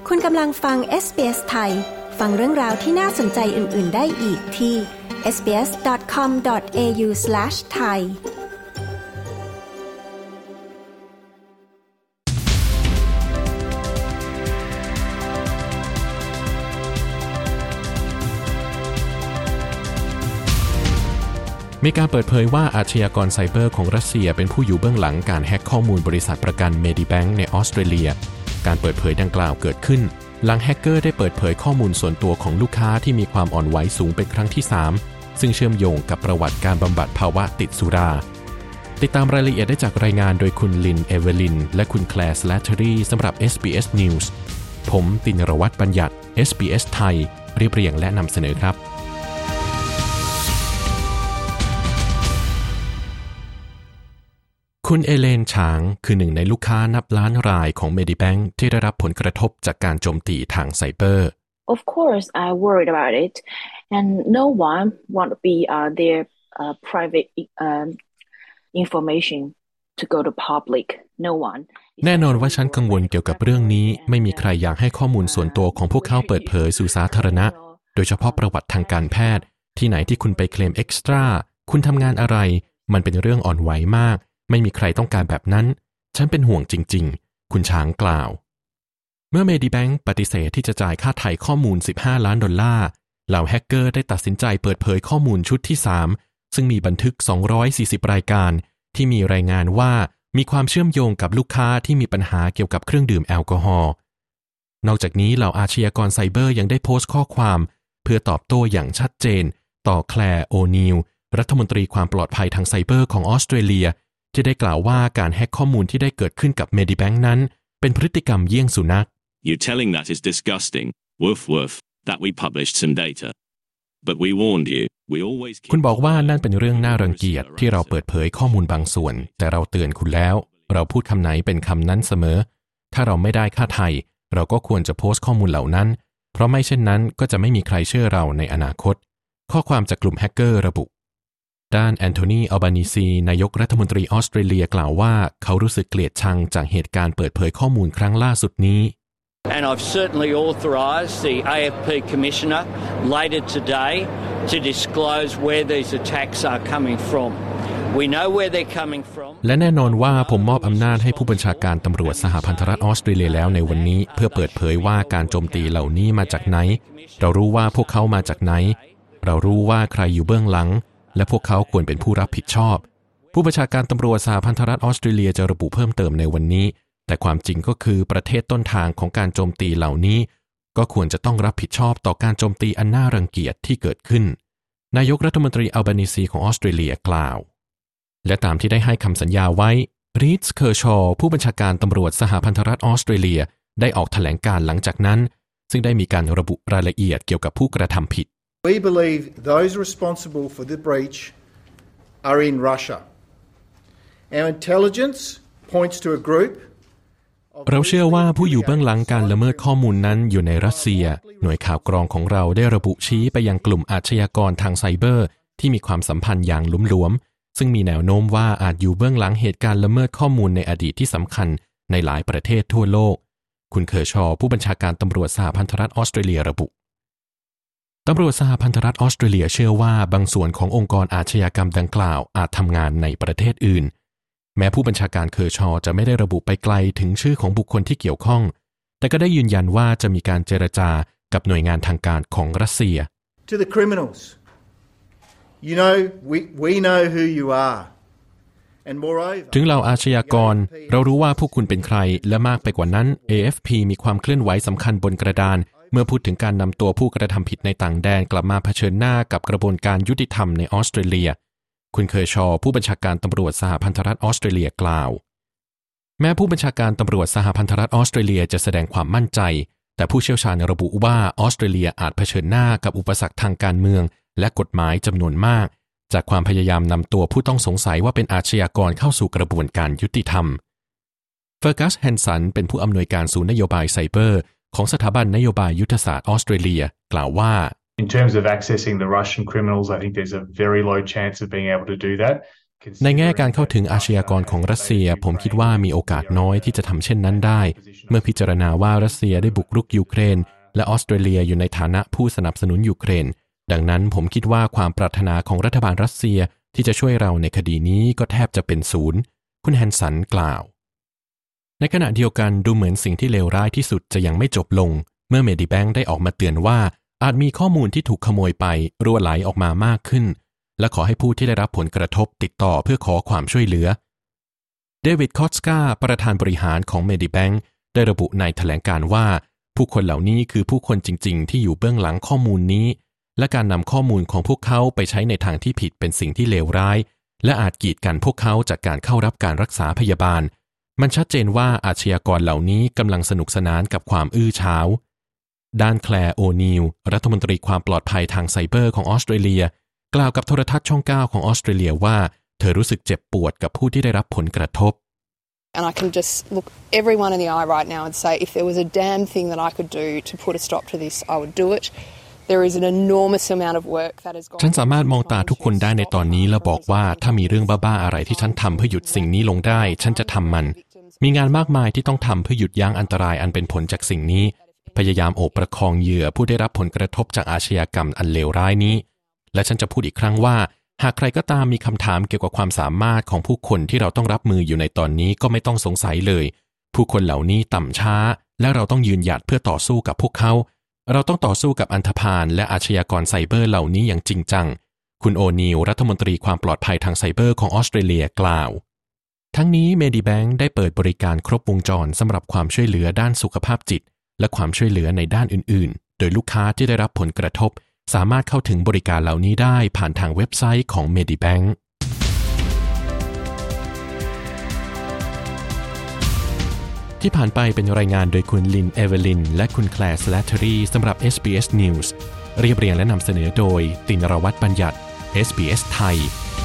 คุณกำลังฟัง SBS ไทยฟังเรื่องราวที่น่าสนใจอื่นๆได้อีกที่ sbs.com.au/thai มีการเปิดเผยว่าอาชญากรไซเบอร์ของรัสเซียเป็นผู้อยู่เบื้องหลังการแฮ็กข้อมูลบริษัทประกัน Medibank ในออสเตรเลียการเปิดเผยดังกล่าวเกิดขึ้นหลังแฮกเกอร์ได้เปิดเผยข้อมูลส่วนตัวของลูกค้าที่มีความอ่อนไหวสูงเป็นครั้งที่ 3ซึ่งเชื่อมโยงกับประวัติการบำบัดภาวะติดสุราติดตามรายละเอียดได้จากรายงานโดยคุณลินเอเวลินและคุณแคลร์สแลตเทอรี่สำหรับ SBS News ผมตินรวัฒน์บัญญัติ SBS ไทยเรียบเรียงและนำเสนอครับคุณเอเลนฉางคือหนึ่งในลูกค้านับล้านรายของ Medibank ที่ได้รับผลกระทบจากการโจมตีทางไซเบอร์ Of course, I worried about it, and no one want to be their private information to go to public. No one. แน่นอนว่าฉันกังวลเกี่ยวกับเรื่องนี้ไม่มีใครอยากให้ข้อมูลส่วนตัวของพวกเขาเปิดเผยสู่สาธารณะโดยเฉพาะประวัติทางการแพทย์ที่ไหนที่คุณไปเคลมเอ็กซ์ตร้าคุณทำงานอะไรมันเป็นเรื่องอ่อนไหวมากไม่มีใครต้องการแบบนั้นฉันเป็นห่วงจริงๆคุณช้างกล่าวเมื่อ Medibank ปฏิเสธที่จะจ่ายค่าไถ่ข้อมูล$15 ล้านเหล่าแฮกเกอร์ได้ตัดสินใจเปิดเผยข้อมูลชุดที่3ซึ่งมีบันทึก240รายการที่มีรายงานว่ามีความเชื่อมโยงกับลูกค้าที่มีปัญหาเกี่ยวกับเครื่องดื่มแอลกอฮอล์นอกจากนี้เหล่าอาชญากรไซเบอร์ยังได้โพสต์ข้อความเพื่อตอบโต้อย่างชัดเจนต่อแคลร์โอนีลรัฐมนตรีความปลอดภัยทางไซเบอร์ของออสเตรเลียที่ได้กล่าวว่าการแฮ็กข้อมูลที่ได้เกิดขึ้นกับ Medibank นั้นเป็นพฤติกรรมเยี่ยงสุนัข You're telling that is disgusting. Woof woof. That we published some data. But we warned you. We always คุณบอกว่านั่นเป็นเรื่องน่ารังเกียจที่เราเปิดเผยข้อมูลบางส่วนแต่เราเตือนคุณแล้วเราพูดคำไหนเป็นคำนั้นเสมอถ้าเราไม่ได้ค่าไถ่เราก็ควรจะโพสต์ข้อมูลเหล่านั้นเพราะไม่เช่นนั้นก็จะไม่มีใครเชื่อเราในอนาคตข้อความจากกลุ่มแฮกเกอร์ระบุด้านแอนโทนี อัลบานีซีนายกรัฐมนตรีออสเตรเลียกล่าวว่าเขารู้สึกเกลียดชังจากเหตุการณ์เปิดเผยข้อมูลครั้งล่าสุดนี้ And I've certainly authorised the AFP Commissioner later today to disclose where these attacks are coming from. We know where they're coming from. และแน่นอนว่าผมมอบอำนาจให้ผู้บัญชาการตำรวจสหพันธรัฐออสเตรเลียแล้วในวันนี้เพื่อเปิดเผยว่าการโจมตีเหล่านี้มาจากไหนเรารู้ว่าพวกเขามาจากไหนเรารู้ว่าใครอยู่เบื้องหลังและพวกเขาควรเป็นผู้รับผิดชอบผู้บัญชาการตำรวจสหพันธรัฐออสเตรเลียจะระบุเพิ่มเติมในวันนี้แต่ความจริงก็คือประเทศต้นทางของการโจมตีเหล่านี้ก็ควรจะต้องรับผิดชอบต่อการโจมตีอันน่ารังเกียจที่เกิดขึ้นนายกรัฐมนตรีอัลบานีซีของออสเตรเลียกล่าวและตามที่ได้ให้คำสัญญาไว้รีดส์เคอร์ชอว์ผู้บัญชาการตำรวจสหพันธรัฐออสเตรเลียได้ออกแถลงการหลังจากนั้นซึ่งได้มีการระบุรายละเอียดเกี่ยวกับผู้กระทำผิด We believe those responsible for the breach are in Russia. Our intelligence points to a group เราเชื่อว่าผู้อยู่เบื้องหลังการละเมิดข้อมูลนั้นอยู่ในรัสเซียหน่วยข่าวกรองของเราได้ระบุชี้ไปยังกลุ่มอาชญากรทางไซเบอร์ที่มีความสัมพันธ์อย่างลุ่มหลวมซึ่งมีแนวโน้มว่าอาจอยู่เบื้องหลังเหตุการณ์ละเมิดข้อมูลในอดีตที่สำคัญในหลายประเทศทั่วโลกคุณเคอร์ชอว์ผู้บัญชาการตำรวจสหพันธรัฐออสเตรเลียระบุตำรวจสหพันธรัฐออสเตรเลียเชื่อว่าบางส่วนขององค์กรอาชญากรรมดังกล่าวอาจทำงานในประเทศอื่นแม้ผู้บัญชาการเคอร์ชอว์จะไม่ได้ระบุไปไกลถึงชื่อของบุคคลที่เกี่ยวข้องแต่ก็ได้ยืนยันว่าจะมีการเจรจากับหน่วยงานทางการของรัสเซีย To the criminals, you know, we know who you are, and moreover ถึงเหล่าอาชญากรเรารู้ว่าพวกคุณเป็นใครและมากไปกว่านั้น AFP มีความเคลื่อนไหวสำคัญบนกระดานเมื่อพูดถึงการนำตัวผู้กระทำผิดในต่างแดนกลับมาเผชิญหน้ากับกระบวนการยุติธรรมในออสเตรเลียคุณเคอร์ชอว์ผู้บัญชาการตำรวจสหพันธรัฐออสเตรเลียกล่าวแม้ผู้บัญชาการตำรวจสหพันธรัฐออสเตรเลียจะแสดงความมั่นใจแต่ผู้เชี่ยวชาญระบุว่าออสเตรเลียอาจเผชิญหน้ากับอุปสรรคทางการเมืองและกฎหมายจำนวนมากจากความพยายามนำตัวผู้ต้องสงสัยว่าเป็นอาชญากรเข้าสู่กระบวนการยุติธรรมเฟอร์กัสแฮนสันเป็นผู้อำนวยการศูนย์นโยบายไซเบอร์ของสถาบันนโยบายยุทธศาสตร์ออสเตรเลียกล่าวว่า In terms of accessing the Russian criminals, I think there's a very low chance of being able to do that. ในแง่การเข้าถึงอาชญากรของรัสเซียผมคิดว่ามีโอกาสน้อยที่จะทำเช่นนั้นได้เมื่อพิจารณาว่ารัสเซียได้บุกรุกยูเครนและออสเตรเลียอยู่ในฐานะผู้สนับสนุนยูเครนดังนั้นผมคิดว่าความปรารถนาของรัฐบาลรัสเซียที่จะช่วยเราในคดีนี้ก็แทบจะเป็นศูนย์คุณแฮนสันกล่าวในขณะเดียวกันดูเหมือนสิ่งที่เลวร้ายที่สุดจะยังไม่จบลงเมื่อเมดิแบงค์ได้ออกมาเตือนว่าอาจมีข้อมูลที่ถูกขโมยไปรั่วไหลออกมามากขึ้นและขอให้ผู้ที่ได้รับผลกระทบติดต่อเพื่อขอความช่วยเหลือเดวิดคอตสกาประธานบริหารของเมดิแบงค์ได้ระบุในแถลงการณ์ว่าผู้คนเหล่านี้คือผู้คนจริงๆที่อยู่เบื้องหลังข้อมูลนี้และการนำข้อมูลของพวกเขาไปใช้ในทางที่ผิดเป็นสิ่งที่เลวร้ายและอาจกีดกันพวกเขาจากการเข้ารับการรักษาพยาบาลมันชัดเจนว่าอาชญากรเหล่านี้กำลังสนุกสนานกับความอื้อฉาวด้านแคลร์โอนีลรัฐมนตรีความปลอดภัยทางไซเบอร์ของออสเตรเลียกล่าวกับโทรทัศน์ช่อง 9ของออสเตรเลียว่าเธอรู้สึกเจ็บปวดกับผู้ที่ได้รับผลกระทบ And I can just look everyone in the eye right now and say if there was a damn thing that I could do to put a stop to this I would do it There is an enormous amount of work that has gone ฉันสามารถมองตาทุกคนได้ในตอนนี้และบอกว่าถ้ามีเรื่องบ้าๆอะไรที่ฉันทำเพื่อหยุดสิ่งนี้ลงได้ฉันจะทำมันมีงานมากมายที่ต้องทำเพื่อหยุดยั้งอันตรายอันเป็นผลจากสิ่งนี้พยายามโอบประคองเหยื่อผู้ได้รับผลกระทบจากอาชญากรรมอันเลวร้ายนี้และฉันจะพูดอีกครั้งว่าหากใครก็ตามมีคำถามเกี่ยวกับความสามารถของผู้คนที่เราต้องรับมืออยู่ในตอนนี้ก็ไม่ต้องสงสัยเลยผู้คนเหล่านี้ต่ำช้าและเราต้องยืนหยัดเพื่อต่อสู้กับพวกเขาเราต้องต่อสู้กับอันธพาลและอาชญากรไซเบอร์เหล่านี้อย่างจริงจังคุณโอนีลรัฐมนตรีความปลอดภัยทางไซเบอร์ของออสเตรเลียกล่าวทั้งนี้เมดิแบงค์ได้เปิดบริการครบวงจรสำหรับความช่วยเหลือด้านสุขภาพจิตและความช่วยเหลือในด้านอื่นๆโดยลูกค้าที่ได้รับผลกระทบสามารถเข้าถึงบริการเหล่านี้ได้ผ่านทางเว็บไซต์ของ Medibank ที่ผ่านไปเป็นรายงานโดยคุณลินเอเวลินและคุณแคลร์สแลตเทอรี่สำหรับ SBS News เรียบเรียงและนำเสนอโดยตินรวัฒน์บัญญัติ SBS ไทย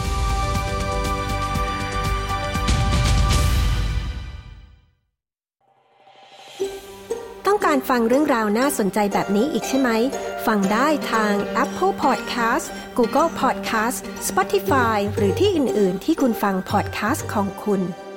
ต้องการฟังเรื่องราวน่าสนใจแบบนี้อีกใช่ไหมฟังได้ทาง Apple Podcast Google Podcast Spotify หรือที่อื่นๆที่คุณฟัง podcast ของคุณ